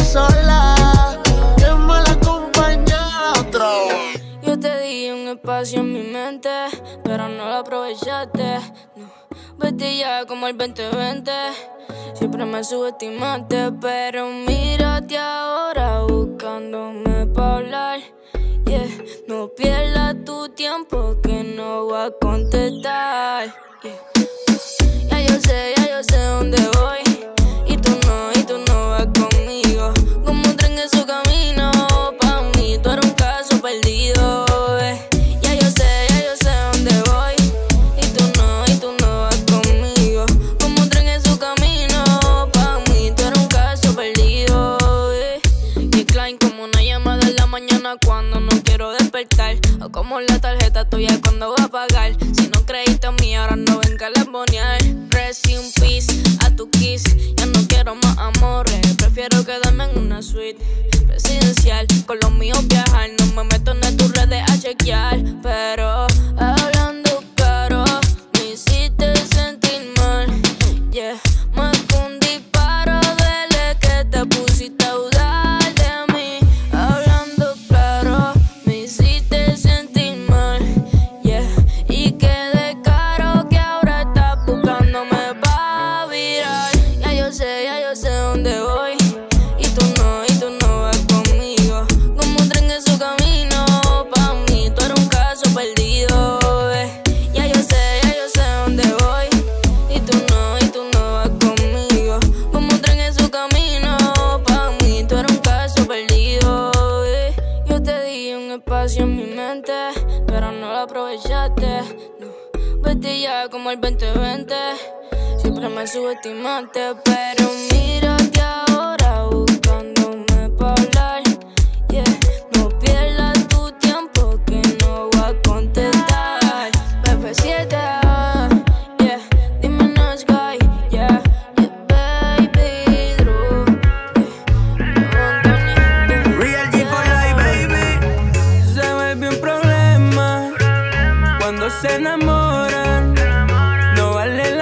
sola que mal acompañada otra vez. Yo te di un espacio en mi mente, pero no lo aprovechaste. No, vete ya como el veinte veinte. Siempre me subestimaste, pero mírate ahora buscándome pa' hablar. Yeah, no pierdas tu tiempo que no va a contestar. Yeah. Ya yo sé, ya yo sé dónde voy, y tú no, y tú no vas conmigo. Como un tren en su camino, pa' mí tú eres un caso perdido. Eh. Ya yo sé, ya yo sé dónde voy, y tú no, y tú no vas conmigo. Como un tren en su camino, pa' mí tú eres un caso perdido. Eh. Y Klein como una llamada en la mañana cuando no quiero despertar, o como la tarjeta tuya cuando voy a pagar. Si no creíste en mí, ahora no venga a lambonear. Rest in peace, a tu kiss. Ya no quiero más amores, prefiero quedarme en una suite presidencial. Con los míos viajar, no me meto en tus redes a chequear. Pero hablando claro, me hiciste sentir mal. Yeah, más que un disparo duele que te pusiste a dudar de mí. Hablando claro, me hiciste sentir mal. Yeah, y quedé caro que ahora estás buscándome pa' virar. Ya yo sé, ya yo sé dónde voy, y tú no, y tú no vas conmigo. Como un tren en su camino, pa' mí tú eres un caso perdido. Eh. Ya yo sé, ya yo sé dónde voy, y tú no, y tú no vas conmigo. Como un tren en su camino, pa' mí tú eres un caso perdido. Eh. Yo te di un espacio en mi mente, pero no lo aprovechaste. No, vete ya como el veinte veinte. Siempre me subestimaste, pero mírate ahora buscándome pa' hablar. Yeah, no pierdas tu tiempo que no va a contestar. B F siete, yeah, dime no Sky, yeah, yeah, baby, Drew, yeah, Real G for life, baby. Se vuelve un problema cuando se enamoran. No vale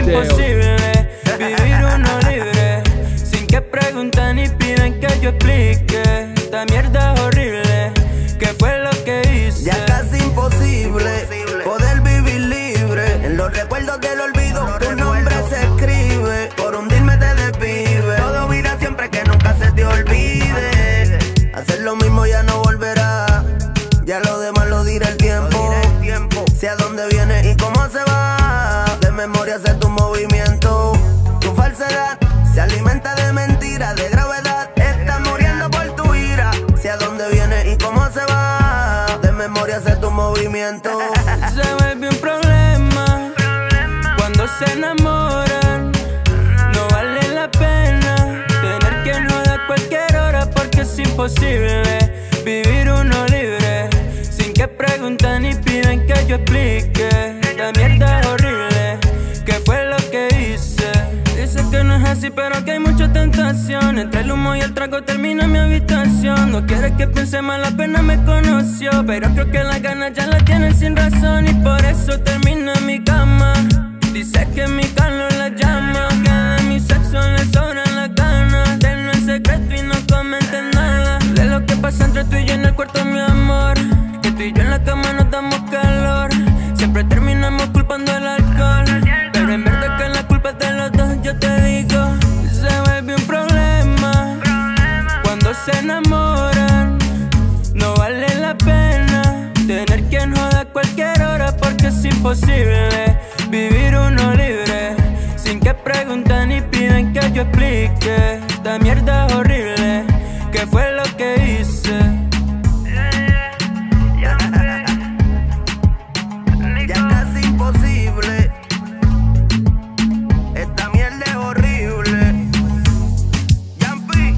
imposible vivir uno libre, sin que pregunten ni piden que yo explique. Esta mierda es horrible, ¿qué fue lo que hice? Ya casi imposible poder vivir libre. En los recuerdos del olvido tu nombre se escribe. Por hundirme te desvive. Todo mira siempre que nunca se te olvide. Hacer lo mismo ya no volverá. Ya lo demás lo dirá el tiempo. Sé a dónde viene y cómo se va. De memoria sé tu movimiento. Tu falsedad se alimenta de mentiras, de gravedad. Estás muriendo por tu ira. Sé a dónde viene y cómo se va. De memoria sé tu movimiento. Se vuelve un problema cuando se enamoran. No vale la pena tener que joder a cualquier hora, porque es imposible vivir uno libre, sin que pregunten ni piden que yo explique. Esta mierda es horrible, ¿qué fue lo que hice? Dice que no es así, pero que hay mucha tentación. Entre el humo y el trago termina mi habitación. No quiere que piense mal, apenas me conoció, pero creo que las ganas ya las tienen sin razón, y por eso termina en mi cama. Dice que mi calor la llama, que de mi sexo le sobran las ganas. Tenlo en secreto y no comenten nada de lo que pasa entre tú y yo en el cuarto, mi amor. Que tú y yo en la cama nos damos calor. Siempre terminamos culpando al alcohol, pero en verdad que la culpa es de los dos. Yo te digo, se vuelve un problema cuando se enamoran. No vale la pena tener quien joda a cualquier hora, porque es imposible vivir uno libre, sin que pregunten ni piden que yo explique. Esta mierda es horrible, ¿qué fue lo que hice? Ya casi imposible. Esta mierda es horrible. Yampi,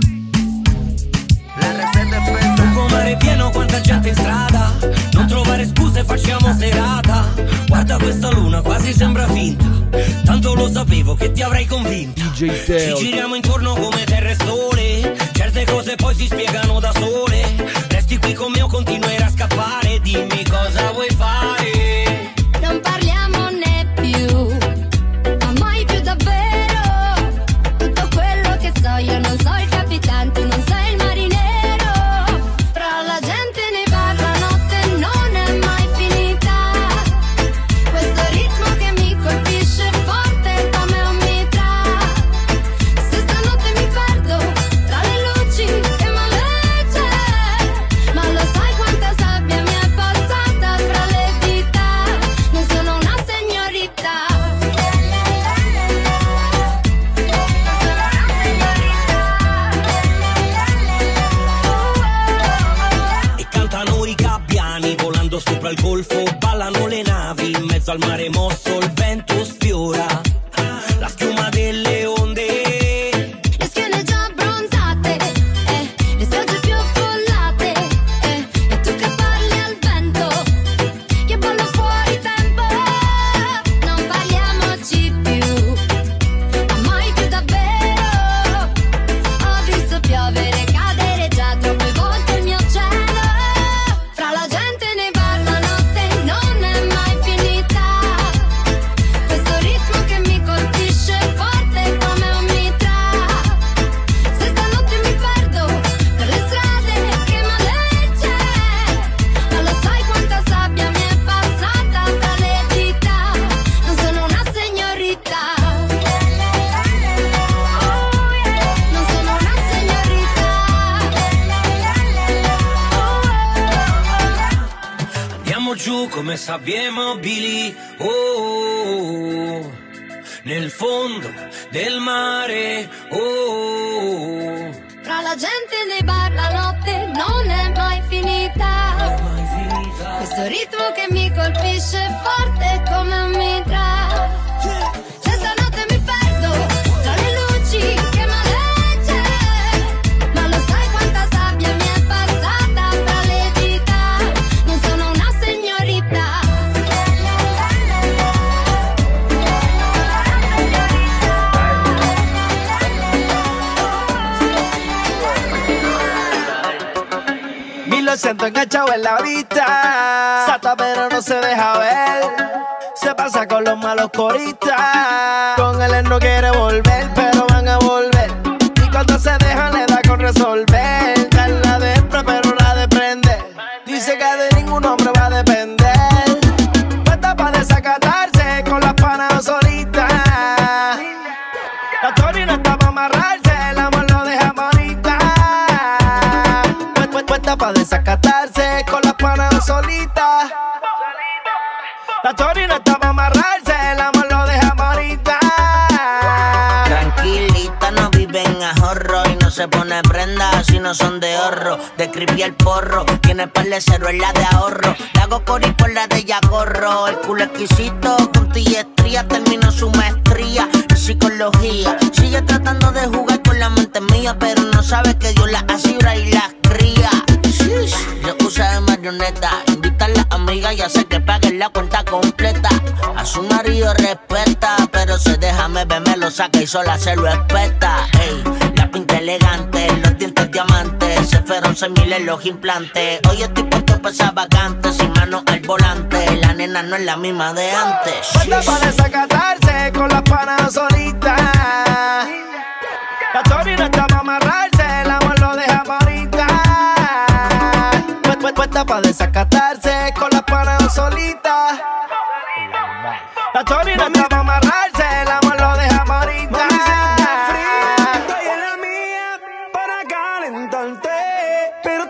la receta è spesa. Un mare pieno, quanta gente in strada. Non trovare scuse, facciamo serata. Guarda questa luna, quasi sembra finta. Tanto lo sapevo che ti avrei convinta. D J Teo. Ci giriamo intorno come terra e sole. Certe cose poi si spiegano da sole. Resti qui con me o continuerai a scappare. Dimmi cosa vuoi fare. Non parliamone più, ma mai più davvero. Tutto quello che so io non so il capitano, tu non sei il marinero. Tra la gente ne parla, notte non è mai finita. Questo ritmo che mi colpisce forte come un mitra. Se stanotte mi perdo tra le luci che maleggia, ma lo sai quanta sabbia mi è passata fra le dita. Non sono una signorita. E cantano i gabbiani volando sopra il golfo. Ballano le navi in mezzo al mare mosso. Il vento sfiora la schiuma delle onde. Le schiene già abbronzate, eh, le spiagge più affollate, eh, e tu che parli al vento, che ballo fuori tempo. Non parliamoci più, ma mai più davvero. Ho visto piovere, cadere già troppe volte il mio cielo. Fra la gente ne parla, notte non è mai finita. Questo ritmo che mi colpisce forte come un mitra. Se stanotte mi perdo per le strade che maleggia, ma lo sai quanta sabbia mi è passata fra le dita. Non sono una signorita. Non sono una signorita. Andiamo giù come sabbie mobili, oh, oh, oh, nel fondo del mare, oh, oh, oh. Tra la gente nei bar la notte non è mai finita. Questo ritmo che mi colpisce forte come un mitra. Se stanotte mi perdo tra le luci che maleggia, ma lo sai quanta sabbia mi è passata fra le dita. Non sono una signorita. Mil lo siento enganchado en la vista, sata pero no se deja ver. se pasa con los malos coristas. Con él él no quiere volver, pero van a volver. Y cuando se dejan le da con resolver. Dan la deempre, pero la de prender. Dice que de ningún hombre va a depender. Puesta pa' desacatarse con las panas solitas. La Tori no está pa' amarrarse, el amor lo deja bonita. Puesta pa' desacatarse con las panas solitas. La Tori no está pa' amarrarse, el amor lo deja bonita. Tranquilita, no vive en ahorro y no se pone prenda si no son de ahorro. De creepy el porro, tiene par de cero en la de ahorro. Le hago cori por la de ella corro. El culo exquisito, con estría terminó su maestría en psicología. Sigue tratando de jugar con la mente mía, pero no sabe que Dios la asegura y las cría. Yo usa de marioneta, invita a las amigas y hace que paguen la cuenta completa. A su marido respeta, pero se deja beber, me lo saca y sola se lo espeta. Ey, la pinta elegante, los dientes diamantes, se fueron seis mil en los implantes. Hoy estoy puesto pa' esa vacante, sin mano al volante. La nena no es la misma de antes. Puesta pa' desacatarse con las panas solitas. La Tori no está pa' amarrarse, el amor lo deja bonita. Puesta pa' desacatarse con las panas solitas. La Tori no está pa' amarrarse, el amor lo deja bonita. Estoy en la mía para calentarte, pero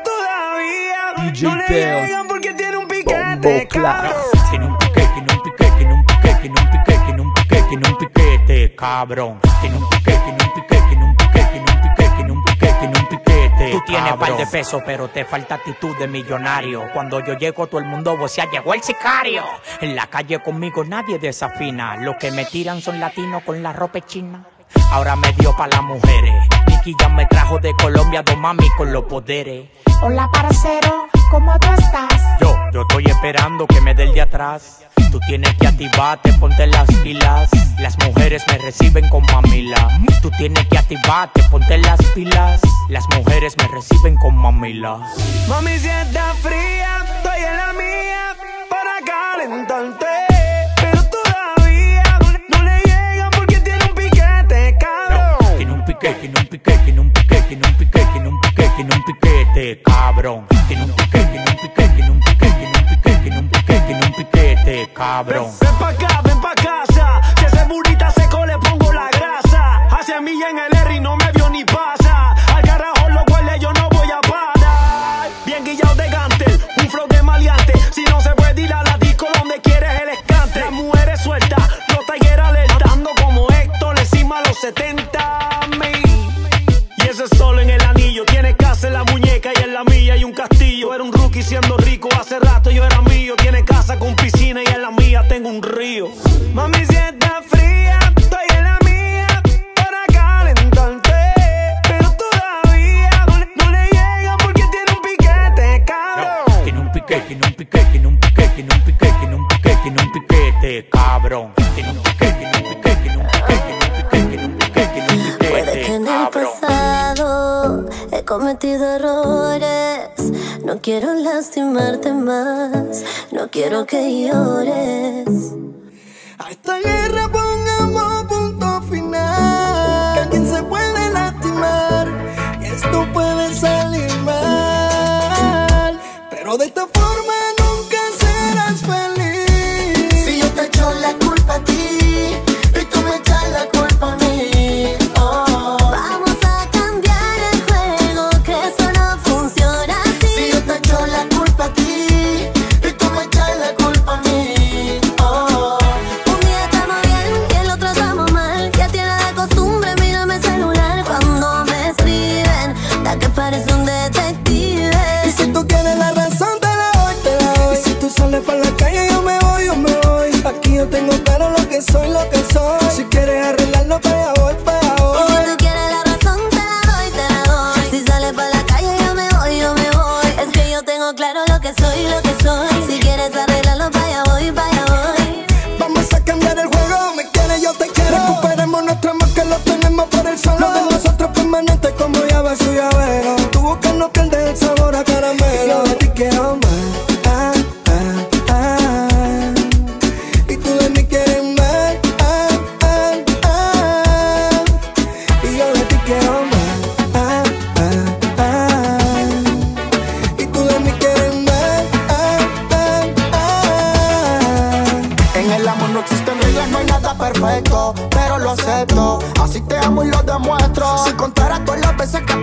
todavía D J no le Teo. llegan porque tiene un piquete, Bombo cabrón. Tiene un piquete, tiene un piquete, tiene un piquete, tiene un piquete, tiene un piquete, tiene un piquete, cabrón. Tiene un piquete, tiene un piquete, tiene un piquete, tiene un piquete, tiene un piquete, tiene un piquete. Tú tienes par de pesos, pero te falta actitud de millonario. Cuando yo llego, todo el mundo vocea, llegó el sicario. En la calle conmigo nadie desafina. Los que me tiran son latinos con la ropa china. Ahora me dio pa' las mujeres. Nicky ya me trajo de Colombia, dos mami con los poderes. Hola parcero, ¿cómo tú estás? Yo, yo estoy esperando que me dé el de atrás. Tú tienes que activarte, ponte las pilas. Las mujeres me reciben con mamila. Tú tienes que activarte, ponte las pilas. Las mujeres me reciben con mamila. Mami, si está fría, estoy en la mía para calentarte, pero todavía no le llegan porque tiene un piquete, cabrón. Tiene un piquete, tiene un piquete, tiene un piquete, tiene un piquete, tiene un piquete, tiene un piquete, cabrón. Tiene un piquete, tiene un piquete, tiene un piquete, tiene un piquete, tiene un piquete, tiene un piquete, cabrón. Ven, ven pa' acá, ven pa' casa. Si ese burrita seco le pongo la grasa. Hace milla en el R y no me vio ni pasa. Al carajo lo huele, yo no voy a parar. Bien guillado de gantel, un flow de maleante. Si no se puede ir a la disco donde quieres el escante. Las mujeres sueltas, los taigueras alertando como Héctor encima a los setenta mil. Y ese sol en el anillo, tiene casa en la muñeca y en la mía hay un castillo. Yo era un rookie siendo rico, hace rato yo era mío. Tiene casa con piscina y en la mía tengo un río. Mami, si está fría, estoy en la mía para calentarte, pero todavía no le llegan porque tiene un piquete, cabrón. Tiene un piquete, tiene un piquete, tiene un piquete, tiene un piquete, tiene un piquete, tiene un piquete, cabrón. Tiene un piquete, tiene un piquete, tiene un piquete, tiene un piquete, tiene un piquete, tiene un piquete, Puede que en el pasado he cometido errores. No quiero lastimarte más, no quiero que llores. A esta guerra pongamos punto final. Que alguien se puede lastimar y esto puede salir mal, pero de esta forma nunca serás feliz. Si yo te echo la culpa a ti y tú me echas la culpa a mí, oh. Vamos a cambiar el juego, que eso no funciona así. Si yo te echo la culpa a ti y tú me echas la culpa a mí, oh. Un día estamos bien y el otro estamos mal. Ya tiene la costumbre, mírame el celular cuando me escriben, da que parece un detective. Y si tú quieres la razón te la doy, te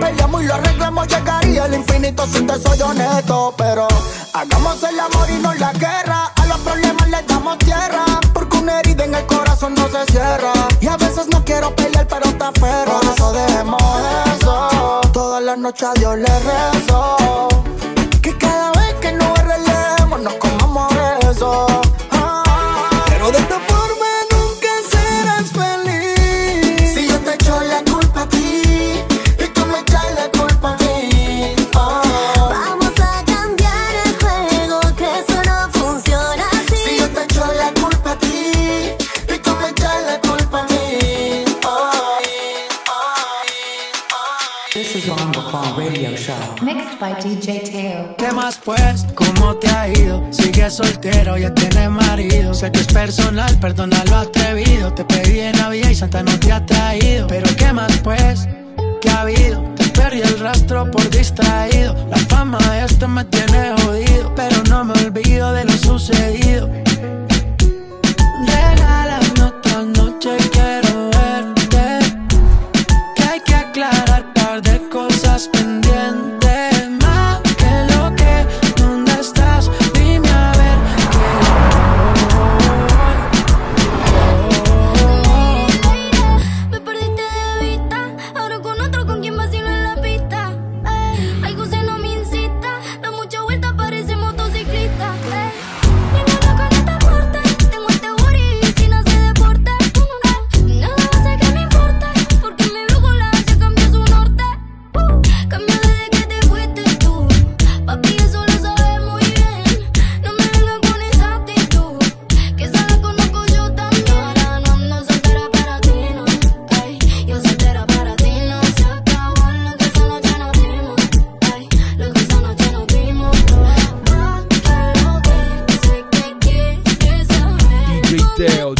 peleamos y lo arreglamos, llegaría al infinito si te soy honesto. Pero hagamos el amor y no la guerra, a los problemas le damos tierra, porque una herida en el corazón no se cierra. Y a veces no quiero pelear pero te aferro, por eso dejemos eso. Todas las noches a Dios le rezo, que cada vez que nos arreglemos nos comamos eso. Ah, pero de esta forma nunca serás feliz. Si yo te echo la culpa a ti y tú me echas la culpa a mí. Oh. Vamos a cambiar el juego, que eso no funciona así. Si yo te echo la culpa a ti y tú me echas la culpa a mí. Oh. This is Bongo Clan Radio Show. Mixed by D J Teo. ¿Qué más pues? ¿Cómo te ha ido? Sigues soltero, ya tienes marido. Sé que es personal, perdona lo atrevido. Te pedí en Navidad y Santa no te ha traído. Pero ¿qué más pues? ¿Qué ha habido? Te perdí el rastro por distraído. La fama de este me tiene jodido, pero no me olvido de lo sucedido. Regálame otra noche, quiero verte. Que hay que aclarar par de cosas pendientes. Más que lo que, ¿dónde estás? Dime a ver que Me perdiste de vista, ahora con otro con quien vacilo en la pista. Eh, algo se no me incita, da mucha vuelta, parece motociclista. Eh, ninguno con este porte, tengo este booty y si no se deporte. Eh, nada va a ser que me importe, porque mi brújula ya cambió su norte. Uh, cambió desde que te fuiste tú, papi, eso lo sabes muy bien. No me vengas con esa actitud, que esa la conozco yo también. Ahora no ando soltera para ti, no. Ay, yo soltera para ti, no. Se acabó lo que esa noche nos dimos. Ay, lo que esa noche nos dimos. Va, que lo que sé que quieres saber. D J Teo.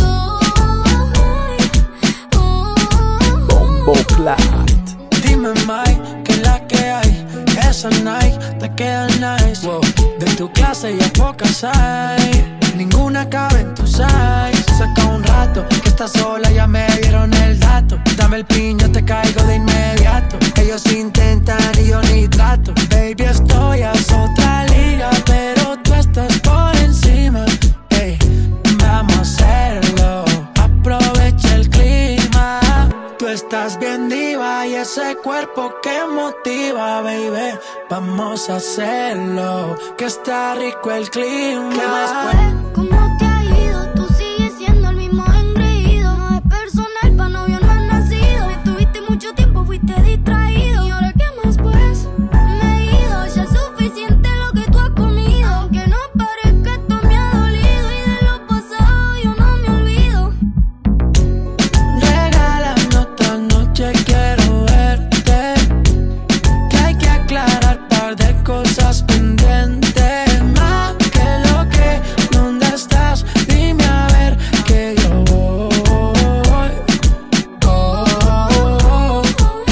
Bombo Clat. Dime, Mike, que la que hay. Esa Nike te queda nice. Wow. De tu clase ya pocas hay. Ninguna cabe en tu size. Saca un rato que estás sola, ya me dieron el dato. Dame el piño, te caigo de inmediato. Ellos intentan y yo ni trato. Baby, estoy a otra liga, pero tú estás por encima. Ey, vamos a hacerlo. Aprovecha el clima. Tú estás bien diva y ese cuerpo que motiva, baby. Vamos a hacerlo, que está rico el clima. ¿Qué más pues? ¿Cómo te ha ido? Tú sigues siendo el mismo engreído. No es personal, pa' novio no has nacido. Me tuviste mucho tiempo, fuiste distraído. ¿Y ahora qué más pues? Me he ido, ya es suficiente lo que tú has comido. Aunque no parezca, esto me ha dolido. Y de lo pasado yo no me olvido. Regálame otra noche, quiero verte. Que hay que aclarar par de cosas pendientes. Más que lo que, ¿dónde estás? Dime a ver que yo voy. Oh,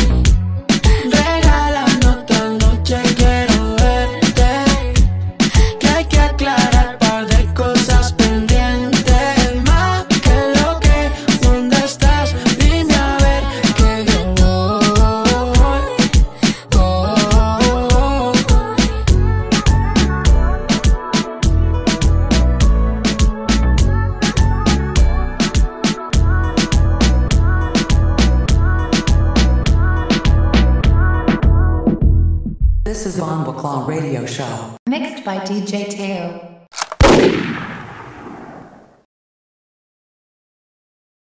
regálame otra noche, quiero verte. Que hay que aclarar par de cosas pendientes. Más que lo que, ¿dónde estás? Dime a ver que yo voy. Oh, This is Bongo Clan Radio Show. Mixed by D J Teo.